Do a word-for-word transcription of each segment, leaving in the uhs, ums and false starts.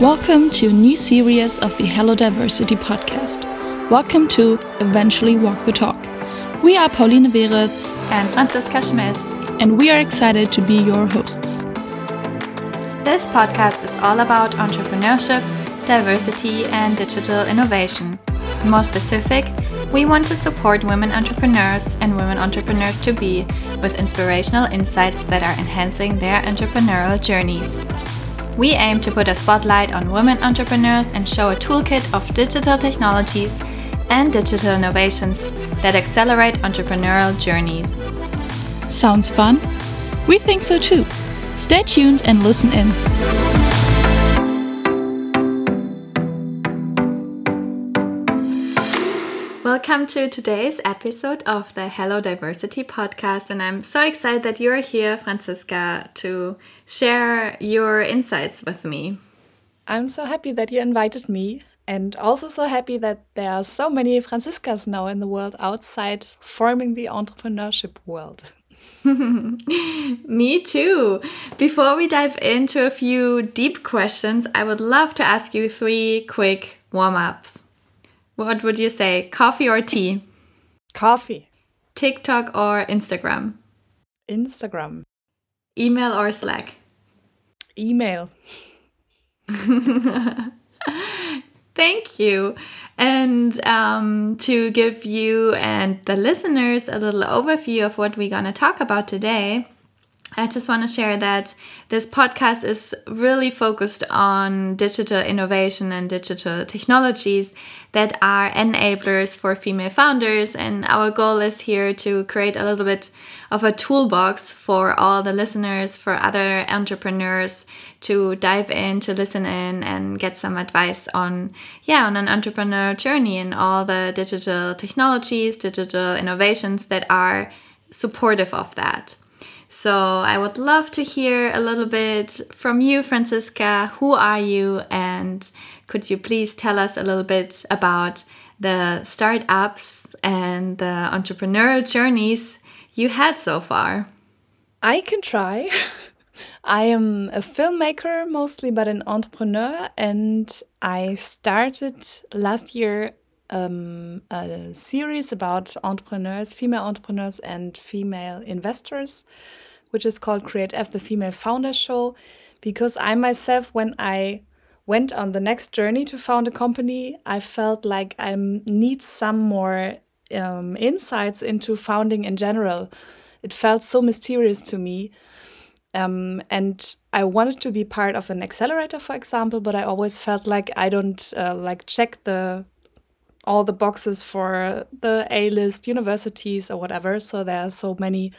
Welcome to a new series of the Hello Diversity podcast. Welcome to Eventually Walk the Talk. We are Pauline Weritz and Franziska Schmidt, and we are excited to be your hosts. This podcast is all about entrepreneurship, diversity, and digital innovation. More specific, we want to support women entrepreneurs and women entrepreneurs to be with inspirational insights that are enhancing their entrepreneurial journeys. We aim to put a spotlight on women entrepreneurs and show a toolkit of digital technologies and digital innovations that accelerate entrepreneurial journeys. Sounds fun? We think so too. Stay tuned and listen in. Welcome to today's episode of the Hello Diversity podcast, and I'm so excited that you're here, Franziska, to share your insights with me. I'm so happy that you invited me, and also so happy that there are so many Franziskas now in the world outside forming the entrepreneurship world. Me too. Before we dive into a few deep questions, I would love to ask you three quick warm-ups. What would you say? Coffee or tea? Coffee. TikTok or Instagram? Instagram. Email or Slack? Email. Thank you. And um, to give you and the listeners a little overview of what we're going to talk about today, I just want to share that this podcast is really focused on digital innovation and digital technologies that are enablers for female founders. And our goal is here to create a little bit of a toolbox for all the listeners, for other entrepreneurs to dive in, to listen in and get some advice on, yeah, on an entrepreneur journey and all the digital technologies, digital innovations that are supportive of that. So I would love to hear a little bit from you, Franziska. Who are you? And could you please tell us a little bit about the startups and the entrepreneurial journeys you had so far? I can try. I am a filmmaker mostly, but an entrepreneur. And I started last year um, a series about entrepreneurs, female entrepreneurs and female investors, which is called Create F, the Female Founder Show, because I myself, when I went on the next journey to found a company, I felt like I need some more um, insights into founding in general. It felt so mysterious to me. Um, and I wanted to be part of an accelerator, for example, but I always felt like I don't uh, like check the all the boxes for the A-list universities or whatever. So there are so many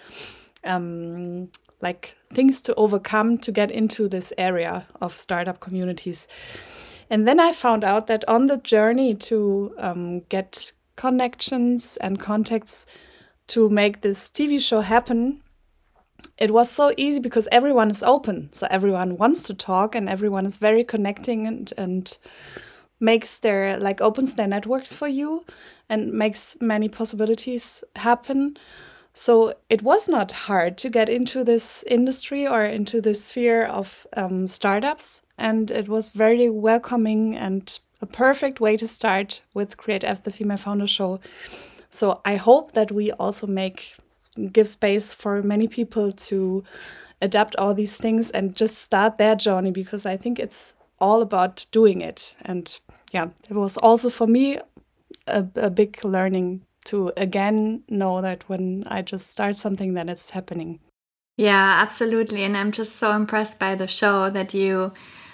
um, like things to overcome to get into this area of startup communities. And then I found out that on the journey to um, get connections and contacts to make this T V show happen, it was so easy because everyone is open. So everyone wants to talk and everyone is very connecting and, and makes their, like opens their networks for you and makes many possibilities happen. So it was not hard to get into this industry or into this sphere of um, startups. And it was very welcoming and a perfect way to start with Create F, the Female Founder Show. So I hope that we also make, give space for many people to adapt all these things and just start their journey, because I think it's all about doing it. And yeah, it was also for me a, a big learning to again know that when I just start something, then it's happening. Yeah, absolutely. And I'm just so impressed by the show that you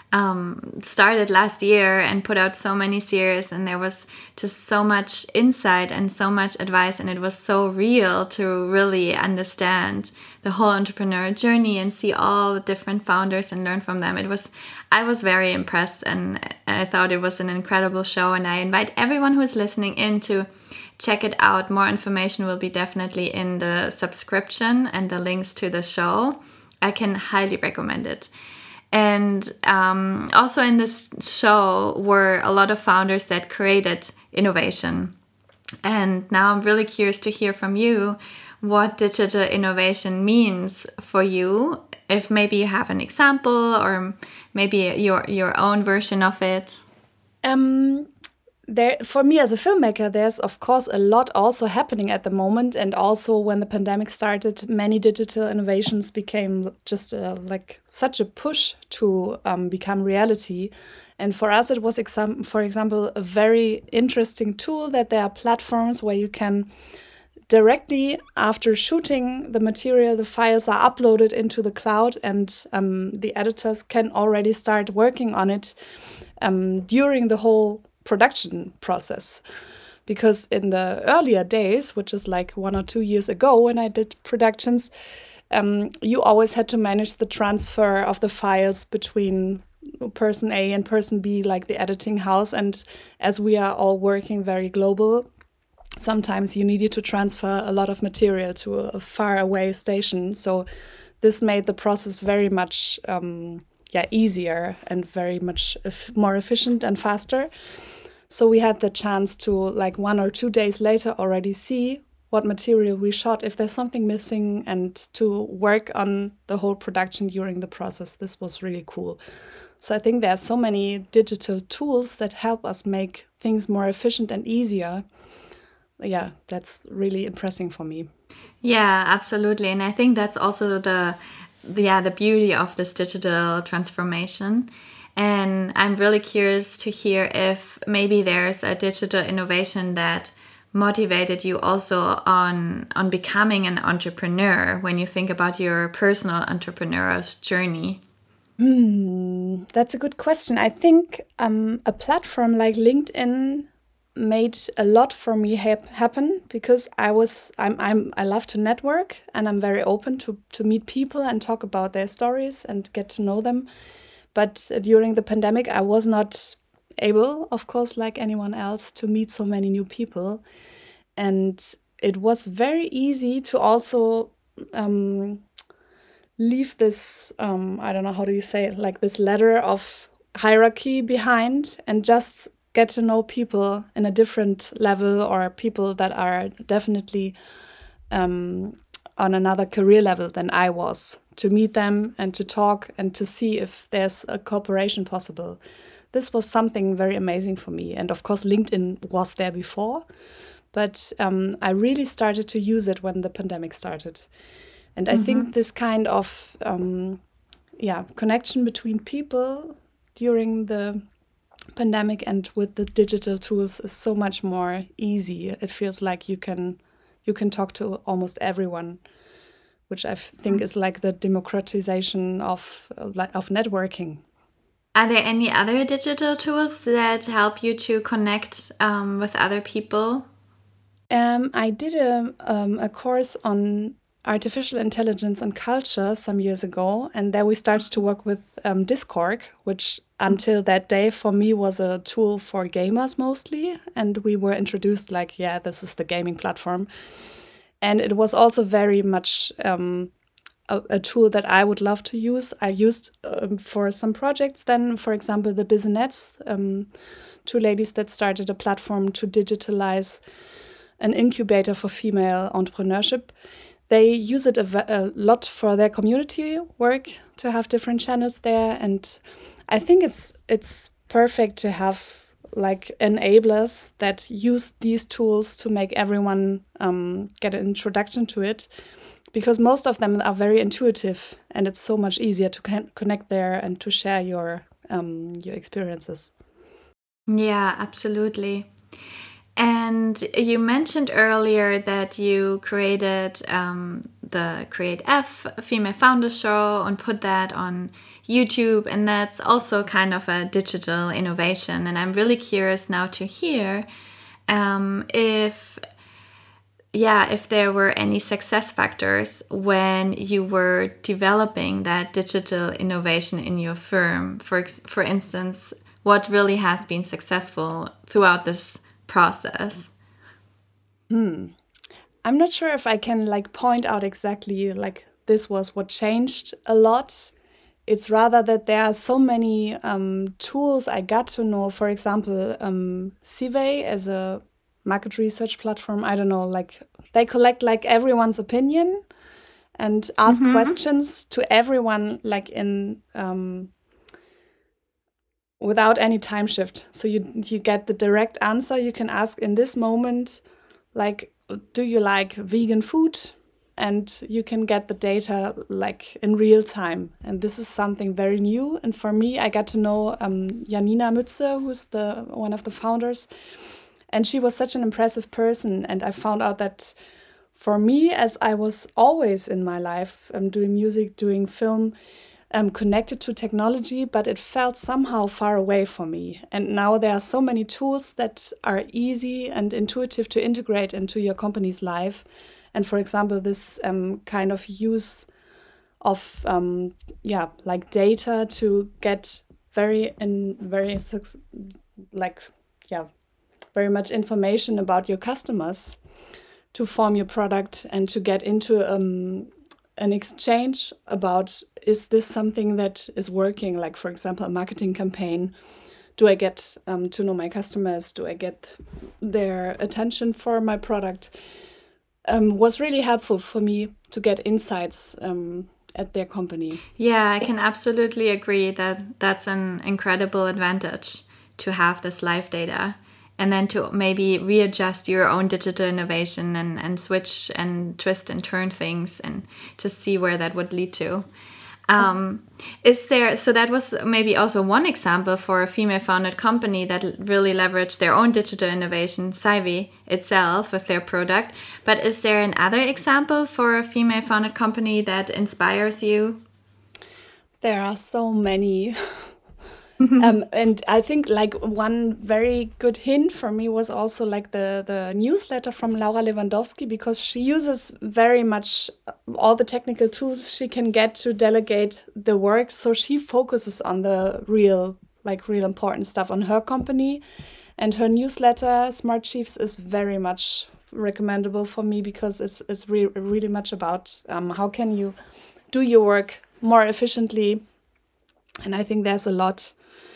um, started last year and put out so many series, and there was just so much insight and so much advice, and it was so real to really understand the whole entrepreneur journey and see all the different founders and learn from them. It was, I was very impressed, and I thought it was an incredible show, and I invite everyone who is listening in to check it out. More information will be definitely in the subscription and the links to the show. I can highly recommend it. And um, also in this show were a lot of founders that created innovation. And now I'm really curious to hear from you what digital innovation means for you if maybe you have an example or maybe your your own version of it. Um, there, for me as a filmmaker, there's of course a lot also happening at the moment, and also when the pandemic started, many digital innovations became just uh, like such a push to um, become reality. And for us, it was, exam- for example, a very interesting tool that there are platforms where you can directly after shooting the material, the files are uploaded into the cloud, and um, the editors can already start working on it um, during the whole production process. Because in the earlier days, which is like one or two years ago when I did productions, um, you always had to manage the transfer of the files between person A and person B, like the editing house. And as we are all working very global, sometimes you needed to transfer a lot of material to a far away station. So this made the process very much um, yeah, easier and very much ef- more efficient and faster. So we had the chance to, like one or two days later, already see what material we shot, if there's something missing, and to work on the whole production during the process. This was really cool. So I think there are so many digital tools that help us make things more efficient and easier. Yeah, that's really impressive for me. Yeah, absolutely. And I think that's also the, the yeah, the beauty of this digital transformation. And I'm really curious to hear if maybe there's a digital innovation that motivated you also on on becoming an entrepreneur when you think about your personal entrepreneurial journey. Hmm, that's a good question. I think um, a platform like LinkedIn made a lot for me hap- happen because I was I'm I'm I love to network, and I'm very open to to meet people and talk about their stories and get to know them. But uh, during the pandemic, I was not able, of course, like anyone else, to meet so many new people. And it was very easy to also um, leave this, um, I don't know, how do you say it, like this ladder of hierarchy behind and just get to know people in a different level, or people that are definitely um, on another career level than I was, to meet them and to talk and to see if there's a cooperation possible. This was something very amazing for me. And of course, LinkedIn was there before, but um, I really started to use it when the pandemic started. And I mm-hmm. think this kind of um, yeah connection between people during the pandemic and with the digital tools is so much more easy. It feels like you can you can talk to almost everyone, which I think is like the democratization of uh, of networking. Are there any other digital tools that help you to connect um, with other people? Um, I did a um, a course on artificial intelligence and culture some years ago, and there we started to work with um, Discord, which until that day for me was a tool for gamers mostly, and we were introduced like, yeah, this is the gaming platform. And it was also very much um, a, a tool that I would love to use. I used um, for some projects then, for example, the Businettes, um, two ladies that started a platform to digitalize an incubator for female entrepreneurship. They use it a, a lot for their community work, to have different channels there. And I think it's it's perfect to have like enablers that use these tools to make everyone um, get an introduction to it, because most of them are very intuitive, and it's so much easier to con- connect there and to share your um, your experiences. Yeah, absolutely. And you mentioned earlier that you created um, the Create F Female Founder Show and put that on YouTube, and that's also kind of a digital innovation. And I'm really curious now to hear um, if, yeah, if there were any success factors when you were developing that digital innovation in your firm. For for instance, what really has been successful throughout this process? Hmm. I'm not sure if I can like point out exactly like this was what changed a lot. It's rather that there are so many um, tools I got to know. For example, um, Civey as a market research platform. I don't know, like they collect like everyone's opinion, and ask mm-hmm. questions to everyone, like in um, without any time shift. So you you get the direct answer. You can ask in this moment, like, do you like vegan food? And you can get the data like in real time. And this is something very new. And for me, I got to know um, Janina Mütze, who's the one of the founders. And she was such an impressive person. And I found out that for me, as I was always in my life um, doing music, doing film, um, connected to technology, but it felt somehow far away for me. And now there are so many tools that are easy and intuitive to integrate into your company's life. And for example, this um, kind of use of um, yeah, like data to get very in very like yeah, very much information about your customers, to form your product and to get into um, an exchange about, is this something that is working? Like, for example, a marketing campaign. Do I get um, to know my customers? Do I get their attention for my product? Um, was really helpful for me to get insights um, at their company. Yeah, I can absolutely agree that that's an incredible advantage to have this live data. And then to maybe readjust your own digital innovation and, and switch and twist and turn things and to see where that would lead to. Um, is there, so that was maybe also one example for a female-founded company that really leveraged their own digital innovation, Saivi itself, with their product. But is there another example for a female-founded company that inspires you? There are so many. um, and I think like one very good hint for me was also like the, the newsletter from Laura Lewandowski, because she uses very much all the technical tools she can get to delegate the work. So she focuses on the real, like real important stuff on her company. And her newsletter, Smart Chiefs, is very much recommendable for me, because it's, it's re- really much about um, how can you do your work more efficiently. And I think there's a lot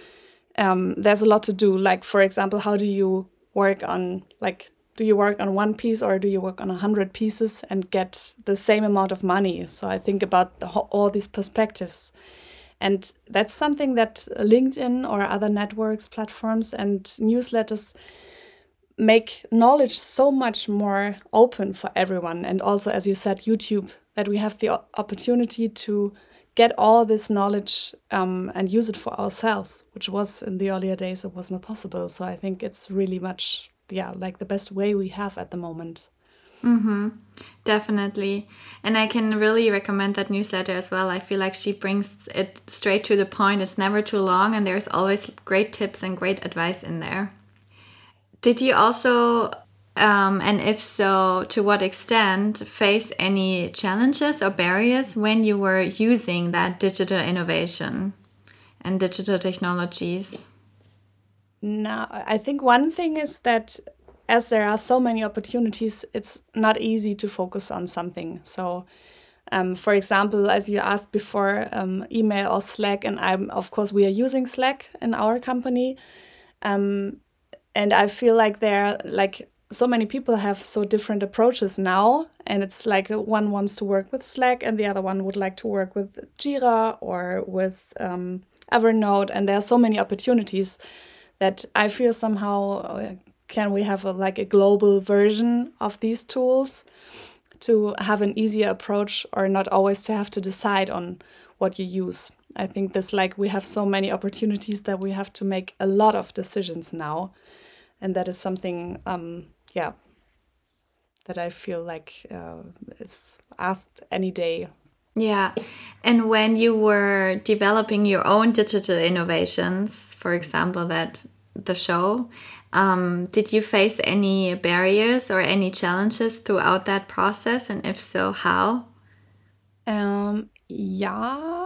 Um, there's a lot to do. Like, for example, how do you work on, like, do you work on one piece or do you work on a hundred pieces and get the same amount of money? So I think about the, all these perspectives. And that's something that LinkedIn or other networks, platforms and newsletters make knowledge so much more open for everyone. And also, as you said, YouTube, that we have the opportunity to get all this knowledge um, and use it for ourselves, which was in the earlier days, it was not possible. So I think it's really much, yeah, like the best way we have at the moment. Mm-hmm. Definitely. And I can really recommend that newsletter as well. I feel like she brings it straight to the point. It's never too long and there's always great tips and great advice in there. Did you also... Um, and if so, to what extent face any challenges or barriers when you were using that digital innovation and digital technologies? No, I think one thing is that as there are so many opportunities, it's not easy to focus on something. So, um, for example, as you asked before, um, email or Slack, and I'm of course we are using Slack in our company, um, and I feel like there like. So many people have so different approaches now, and it's like one wants to work with Slack and the other one would like to work with Jira or with um, Evernote, and there are so many opportunities that I feel somehow uh, can we have a, like a global version of these tools to have an easier approach, or not always to have to decide on what you use. I think this like we have so many opportunities that we have to make a lot of decisions now, and that is something um, yeah, that I feel like uh, is asked any day. Yeah. And when you were developing your own digital innovations, for example, that the show, um, did you face any barriers or any challenges throughout that process? And if so, how? Um, yeah.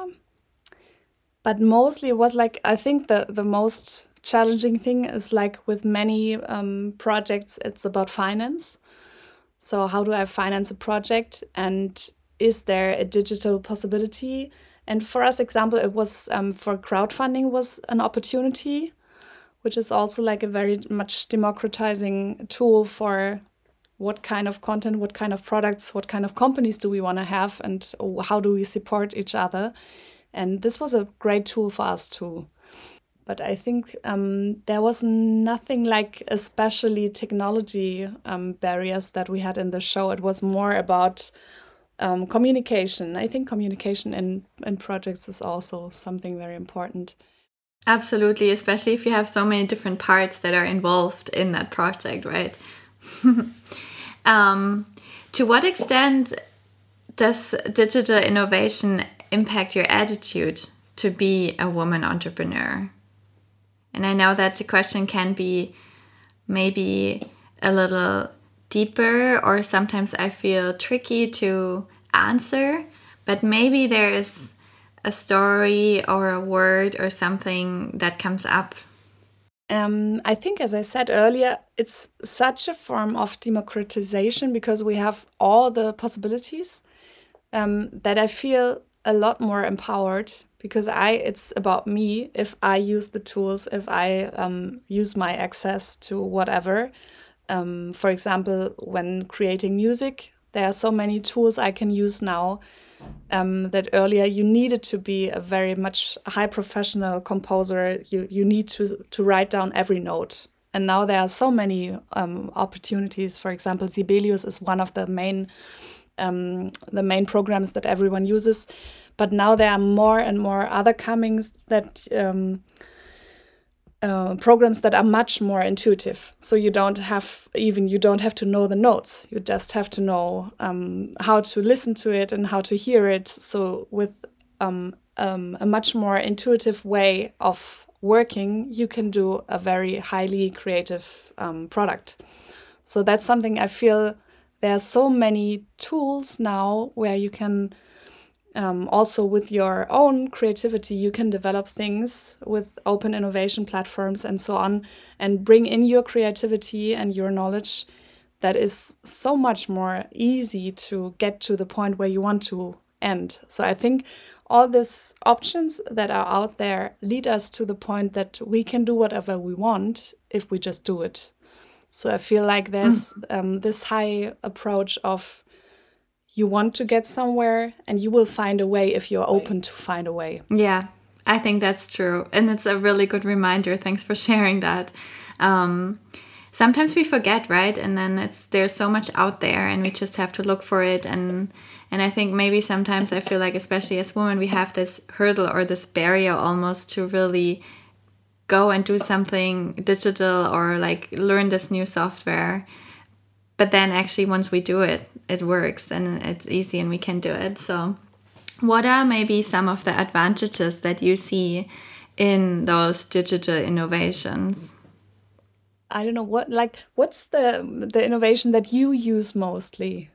But mostly it was like, I think the, the most challenging thing is like with many um, projects, it's about finance. So how do I finance a project, and is there a digital possibility? And for us, example, it was um, for crowdfunding was an opportunity, which is also like a very much democratizing tool for what kind of content, what kind of products, what kind of companies do we want to have, and how do we support each other. And this was a great tool for us too. But I think um, there was nothing like especially technology um, barriers that we had in the show. It was more about um, communication. I think communication in, in projects is also something very important. Absolutely, especially if you have so many different parts that are involved in that project, right? um, to what extent does digital innovation impact your attitude to be a woman entrepreneur? And I know that the question can be maybe a little deeper, or sometimes I feel tricky to answer, but maybe there is a story or a word or something that comes up. Um, I think, as I said earlier, it's such a form of democratization because we have all the possibilities um, that I feel a lot more empowered. Because I, it's about me. If I use the tools, if I um, use my access to whatever. Um, for example, when creating music, there are so many tools I can use now um, that earlier you needed to be a very much high professional composer. You you need to to write down every note. And now there are so many um, opportunities. For example, Sibelius is one of the main um, the main programs that everyone uses. But now there are more and more other comings that um, uh, programs that are much more intuitive. So you don't have even you don't have to know the notes. You just have to know um, how to listen to it and how to hear it. So with um, um, a much more intuitive way of working, you can do a very highly creative um, product. So that's something I feel there are so many tools now where you can. Um, also, with your own creativity, you can develop things with open innovation platforms and so on, and bring in your creativity and your knowledge that is so much more easy to get to the point where you want to end. So I think all these options that are out there lead us to the point that we can do whatever we want if we just do it. So I feel like there's mm. um, this high approach of you want to get somewhere and you will find a way if you're open to find a way. Yeah, I think that's true. And it's a really good reminder. Thanks for sharing that. Um, sometimes we forget, right? And then it's there's so much out there and we just have to look for it. And and I think maybe sometimes I feel like, especially as women, we have this hurdle or this barrier almost to really go and do something digital or like learn this new software. But then actually once we do it, it works and it's easy and we can do it. So what are maybe some of the advantages that you see in those digital innovations? I don't know, what like what's the the innovation that you use mostly?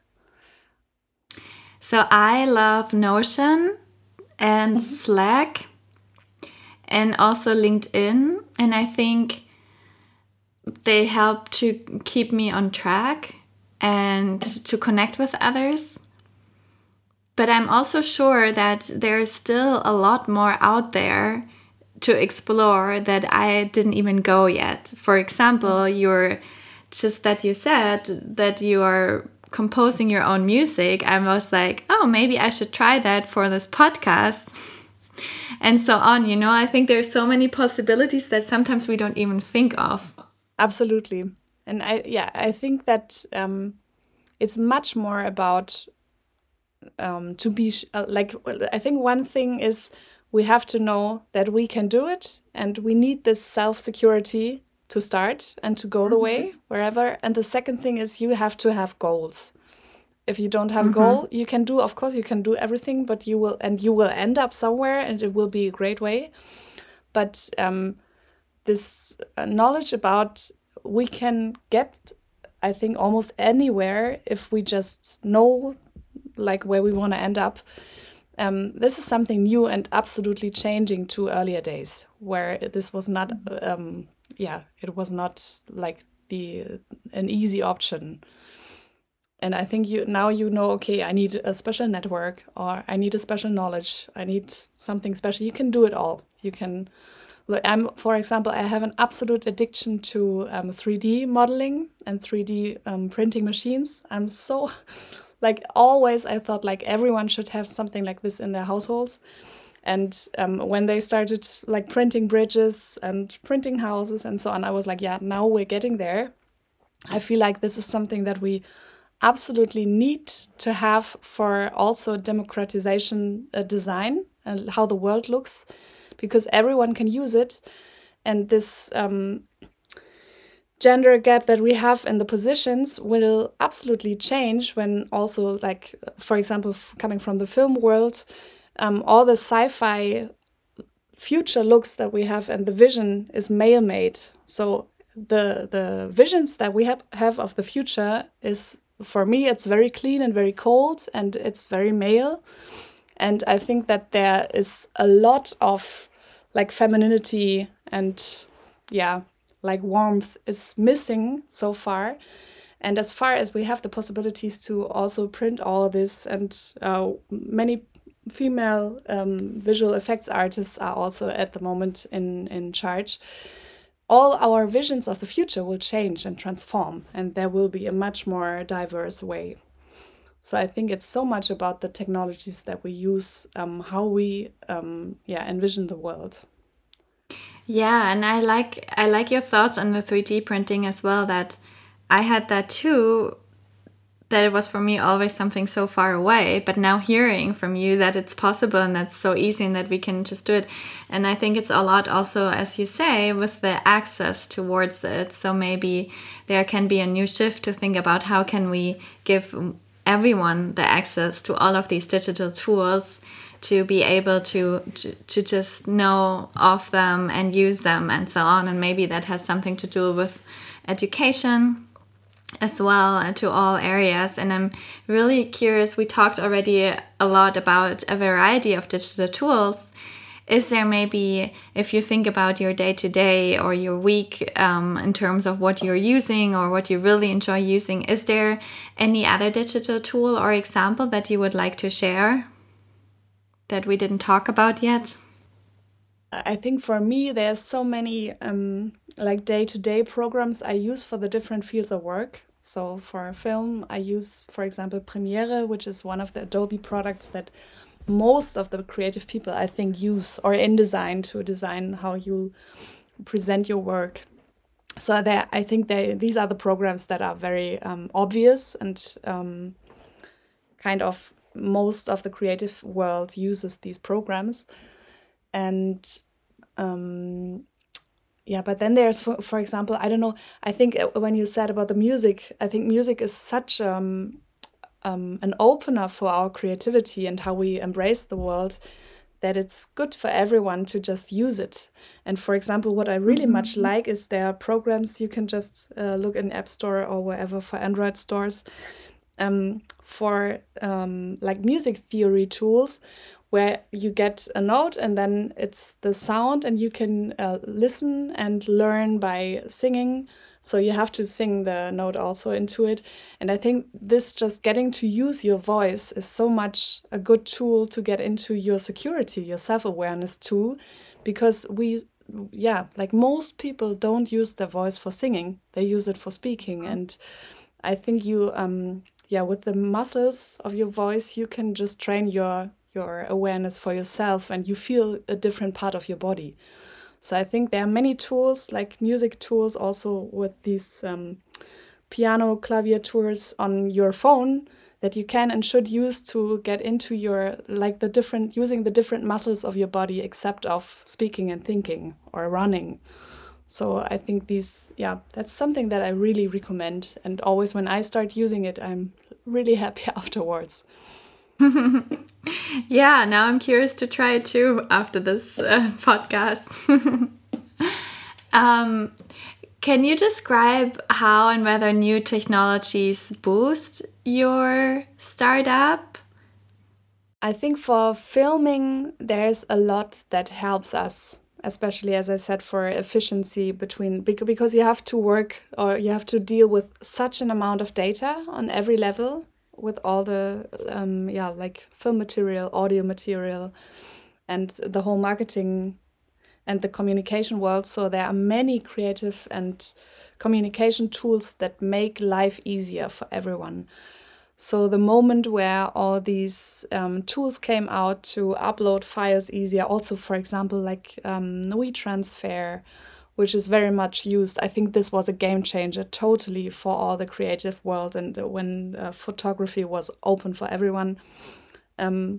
So I love Notion and mm-hmm. Slack and also LinkedIn. And I think they help to keep me on track and to connect with others. But I'm also sure that there's still a lot more out there to explore that I didn't even go yet. For example, you're just that you said that you are composing your own music. I was like, oh, maybe I should try that for this podcast. And so on, you know, I think there's so many possibilities that sometimes we don't even think of. Absolutely. And I, yeah, I think that um, it's much more about um, to be sh- uh, like, I think one thing is we have to know that we can do it and we need this self-security to start and to go the way wherever. And the second thing is you have to have goals. If you don't have mm-hmm. a goal, you can do, of course, you can do everything, but you will, and you will end up somewhere and it will be a great way. But um, this uh, knowledge about we can get, I think, almost anywhere if we just know like where we want to end up. Um, this is something new and absolutely changing to earlier days where this was not, um, yeah, it was not like the an easy option. And I think you now you know, okay, I need a special network or I need a special knowledge. I need something special. You can do it all. You can Look, I'm, for example, I have an absolute addiction to um, three D modeling and three D um, printing machines. I'm so, like, always I thought like everyone should have something like this in their households. And um, when they started like printing bridges and printing houses and so on, I was like, yeah, now we're getting there. I feel like this is something that we absolutely need to have for also democratization uh, design and how the world looks, because everyone can use it. And this um, gender gap that we have in the positions will absolutely change when also, like, for example, coming from the film world, um, all the sci-fi future looks that we have and the vision is male-made. So the the visions that we have, have of the future is, for me, it's very clean and very cold and it's very male. And I think that there is a lot of like femininity and yeah, like warmth is missing so far. And as far as we have the possibilities to also print all this, and uh, many female um, visual effects artists are also at the moment in, in charge, all our visions of the future will change and transform, and there will be a much more diverse way. So I think it's so much about the technologies that we use, um, how we um, yeah envision the world. Yeah, and I like I like your thoughts on the three D printing as well, that I had that too, that it was for me always something so far away, but now hearing from you that it's possible and that's so easy and that we can just do it. And I think it's a lot also, as you say, with the access towards it. So maybe there can be a new shift to think about how can we give everyone the access to all of these digital tools to be able to, to to just know of them and use them and so on. And maybe that has something to do with education as well, and to all areas. And I'm really curious, we talked already a lot about a variety of digital tools. Is there maybe, if you think about your day-to-day or your week um, in terms of what you're using or what you really enjoy using, is there any other digital tool or example that you would like to share that we didn't talk about yet? I think for me, there's so many um, like day-to-day programs I use for the different fields of work. So for film, I use, for example, Premiere, which is one of the Adobe products that most of the creative people, I think, use, or InDesign to design how you present your work. So there, I think they, these are the programs that are very um, obvious, and um, kind of most of the creative world uses these programs. And um, yeah, but then there's, for, for example, I don't know, I think when you said about the music, I think music is such um, um, an opener for our creativity and how we embrace the world, that it's good for everyone to just use it. And for example, what I really mm-hmm. much like is there are programs you can just uh, look in App Store or wherever for Android stores um, for um, like music theory tools, where you get a note and then it's the sound and you can uh, listen and learn by singing. So you have to sing the note also into it. And I think this just getting to use your voice is so much a good tool to get into your security, your self-awareness too, because we, yeah, like most people don't use their voice for singing. They use it for speaking. And I think you, um, yeah, with the muscles of your voice, you can just train your your awareness for yourself, and you feel a different part of your body. So I think there are many tools, like music tools, also with these um, piano claviatures on your phone that you can and should use to get into your, like the different, using the different muscles of your body except of speaking and thinking or running. So I think these, yeah, that's something that I really recommend. And always when I start using it, I'm really happy afterwards. Yeah, now I'm curious to try it too after this uh, podcast. um, can you describe how and whether new technologies boost your startup? I think for filming, there's a lot that helps us, especially, as I said, for efficiency between, because you have to work or you have to deal with such an amount of data on every level, with all the um yeah like film material, audio material, and the whole marketing and the communication world. So there are many creative and communication tools that make life easier for everyone. So the moment where all these um, tools came out to upload files easier, also, for example, like um, WeTransfer, which is very much used. I think this was a game changer totally for all the creative world, and when uh, photography was open for everyone. Um,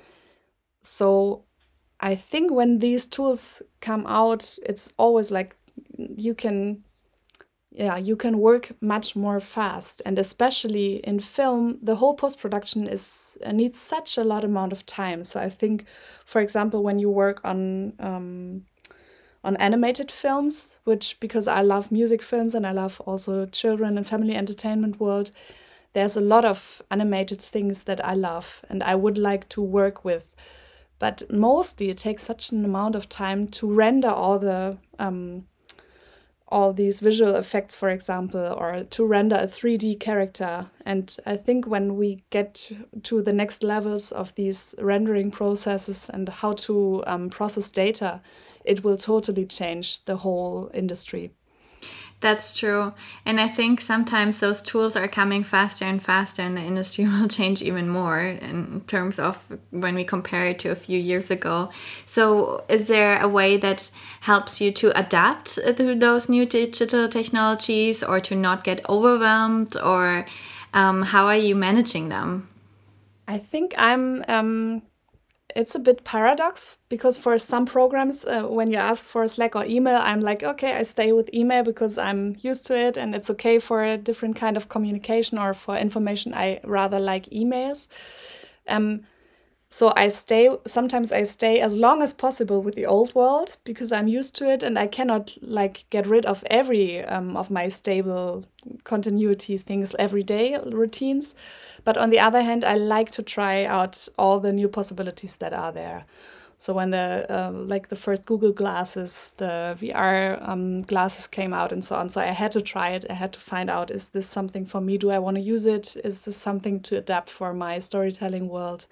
so I think when these tools come out, it's always like you can, yeah, you can work much more fast. And especially in film, the whole post-production is uh, needs such a lot amount of time. So I think, for example, when you work on um, on animated films, which, because I love music films and I love also children and family entertainment world, there's a lot of animated things that I love and I would like to work with. But mostly it takes such an amount of time to render all the um, all these visual effects, for example, or to render a three D character. And I think when we get to the next levels of these rendering processes and how to um, process data, it will totally change the whole industry. That's true. And I think sometimes those tools are coming faster and faster, and the industry will change even more in terms of when we compare it to a few years ago. So is there a way that helps you to adapt to those new digital technologies, or to not get overwhelmed, or um, how are you managing them? I think I'm... Um It's a bit paradox, because for some programs, uh, when you ask for Slack or email, I'm like, okay, I stay with email because I'm used to it and it's okay for a different kind of communication, or for information, I rather like emails. Um, so I stay, sometimes I stay as long as possible with the old world because I'm used to it, and I cannot like get rid of every um, of my stable continuity things, everyday routines. But on the other hand, I like to try out all the new possibilities that are there. So when the uh, like the first Google glasses, the V R um, glasses came out and so on, so I had to try it. I had to find out, is this something for me? Do I want to use it? Is this something to adapt for my storytelling world?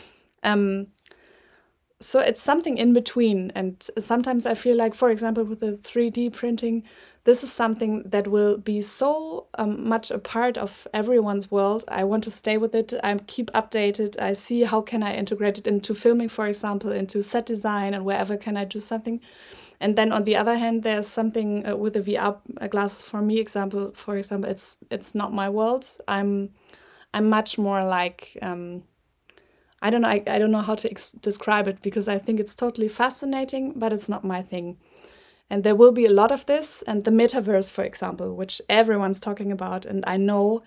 Um, so it's something in between. And sometimes I feel like, for example, with the three D printing, this is something that will be so um, much a part of everyone's world. I want to stay with it. I keep updated. I see how can I integrate it into filming, for example, into set design, and wherever can I do something. And then on the other hand, there's something uh, with the V R glasses. For me, example, for example, it's it's not my world. I'm I'm much more like um, I don't know. I, I don't know how to ex- describe it, because I think it's totally fascinating, but it's not my thing. And there will be a lot of this, and the metaverse, for example, which everyone's talking about. And I know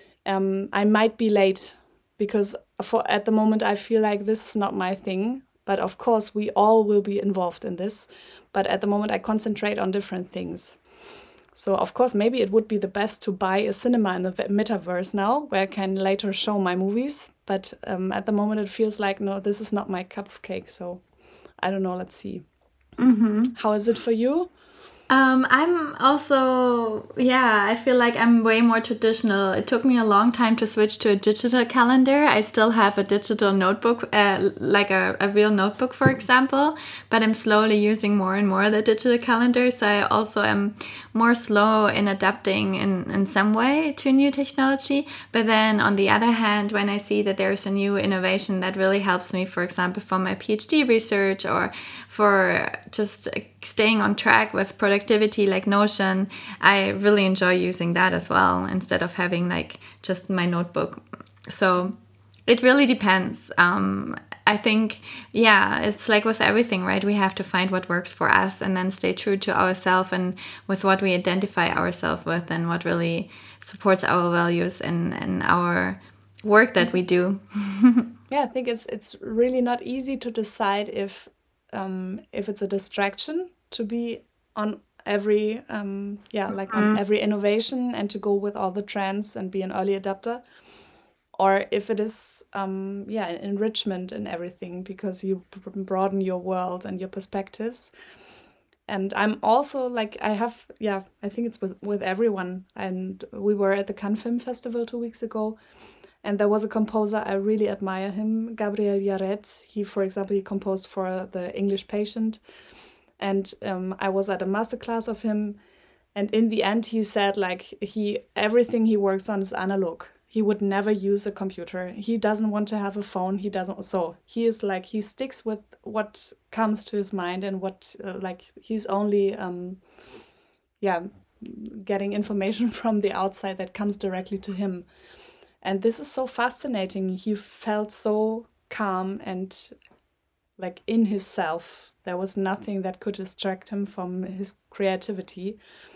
um, I might be late, because for at the moment I feel like this is not my thing. But of course, we all will be involved in this. But at the moment, I concentrate on different things. So of course, maybe it would be the best to buy a cinema in the metaverse now, where I can later show my movies. But um, at the moment, it feels like, no, this is not my cup of cake. So I don't know. Let's see. Mm-hmm. How is it for you? Um, I'm also, yeah, I feel like I'm way more traditional. It took me a long time to switch to a digital calendar. I still have a digital notebook, uh, like a, a real notebook, for example, but I'm slowly using more and more the digital calendar. So I also am more slow in adapting in, in some way to new technology. But then on the other hand, when I see that there's a new innovation that really helps me, for example, for my PhD research, or for just staying on track with productivity like Notion, I really enjoy using that as well, instead of having like just my notebook. So it really depends. Um, I think, yeah, it's like with everything, right? We have to find what works for us and then stay true to ourselves and with what we identify ourselves with and what really supports our values and, and our work that we do. Yeah, I think it's it's really not easy to decide if um, if it's a distraction to be on every um, yeah like on every innovation and to go with all the trends and be an early adapter, or if it is um, yeah an enrichment in everything because you b- broaden your world and your perspectives. And I'm also like I have yeah I think it's with with everyone. And we were at the Cannes Film Festival two weeks ago. And there was a composer, I really admire him, Gabriel Yared. He, for example, he composed for The English Patient. And um, I was at a masterclass of him, and in the end he said like he everything he works on is analog. He would never use a computer. He doesn't want to have a phone. He doesn't. So he is like, he sticks with what comes to his mind and what, uh, like, he's only, um, yeah, getting information from the outside that comes directly to him. And this is so fascinating. He felt so calm and like in his self. There was nothing that could distract him from his creativity.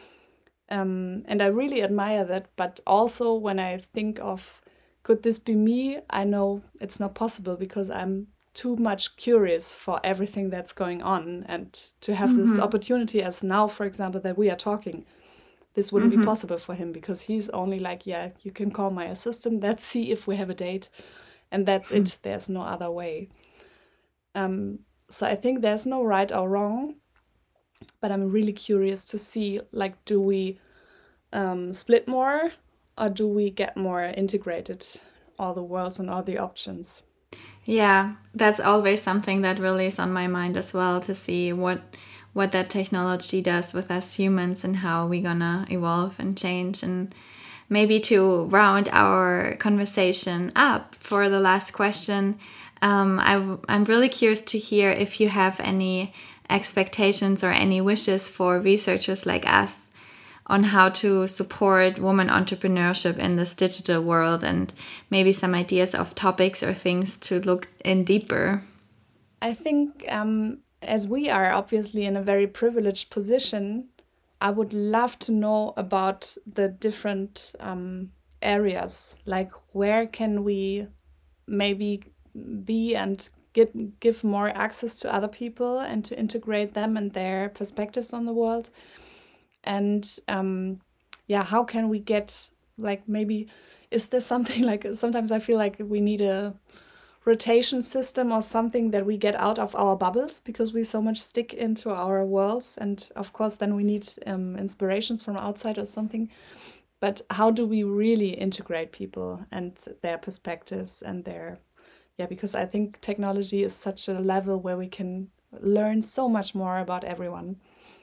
Um, and I really admire that. But also when I think of, could this be me? I know it's not possible because I'm too much curious for everything that's going on. And to have mm-hmm. this opportunity as now, for example, that we are talking, this wouldn't mm-hmm. be possible for him because he's only like, yeah, you can call my assistant. Let's see if we have a date. And that's mm-hmm. it. There's no other way. Um, so I think there's no right or wrong. But I'm really curious to see, like, do we um, split more or do we get more integrated, all the worlds and all the options? Yeah, that's always something that really is on my mind as well, to see what what that technology does with us humans and how we're gonna evolve and change. And maybe to round our conversation up for the last question, um, I, I'm really curious to hear if you have any expectations or any wishes for researchers like us on how to support women entrepreneurship in this digital world, and maybe some ideas of topics or things to look in deeper. I think um, as we are obviously in a very privileged position, I would love to know about the different um, areas, like where can we maybe be and Get, give more access to other people and to integrate them and their perspectives on the world. And um, yeah, how can we get, like, maybe, is there something like, sometimes I feel like we need a rotation system or something that we get out of our bubbles because we so much stick into our worlds. And of course, then we need um, inspirations from outside or something. But how do we really integrate people and their perspectives and their Yeah, because I think technology is such a level where we can learn so much more about everyone.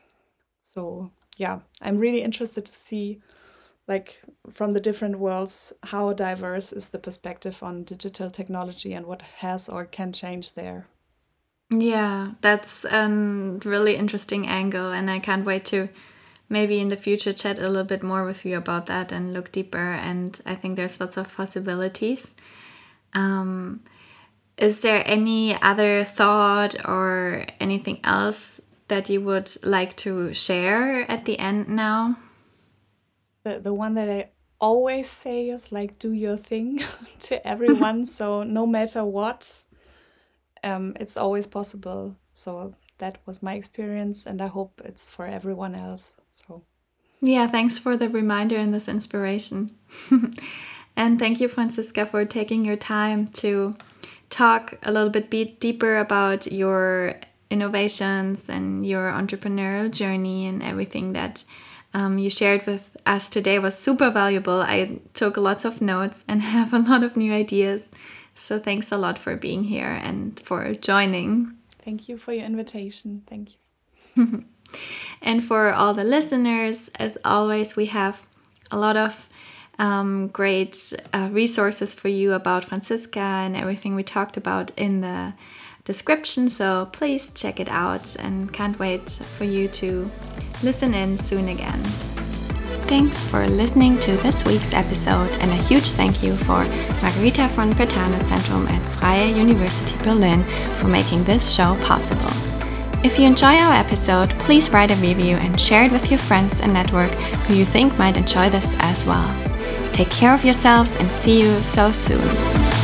So yeah, I'm really interested to see, like, from the different worlds, how diverse is the perspective on digital technology and what has or can change there. Yeah, that's a really interesting angle, and I can't wait to maybe in the future chat a little bit more with you about that and look deeper. And I think there's lots of possibilities. Um, Is there any other thought or anything else that you would like to share at the end now? The the one that I always say is like, do your thing to everyone. So no matter what, um, it's always possible. So that was my experience, and I hope it's for everyone else. So yeah, thanks for the reminder and this inspiration. And thank you, Franziska, for taking your time to talk a little bit be- deeper about your innovations and your entrepreneurial journey, and everything that um, you shared with us today was super valuable. I took lots of notes and have a lot of new ideas. So thanks a lot for being here and for joining. Thank you for your invitation. Thank you. And for all the listeners, as always, we have a lot of Um, great uh, resources for you about Franziska and everything we talked about in the description. So please check it out, and can't wait for you to listen in soon again. Thanks for listening to this week's episode, and a huge thank you for Margarita von Brentano Zentrum at Freie University Berlin for making this show possible. If you enjoy our episode, please write a review and share it with your friends and network who you think might enjoy this as well. Take care of yourselves and see you so soon.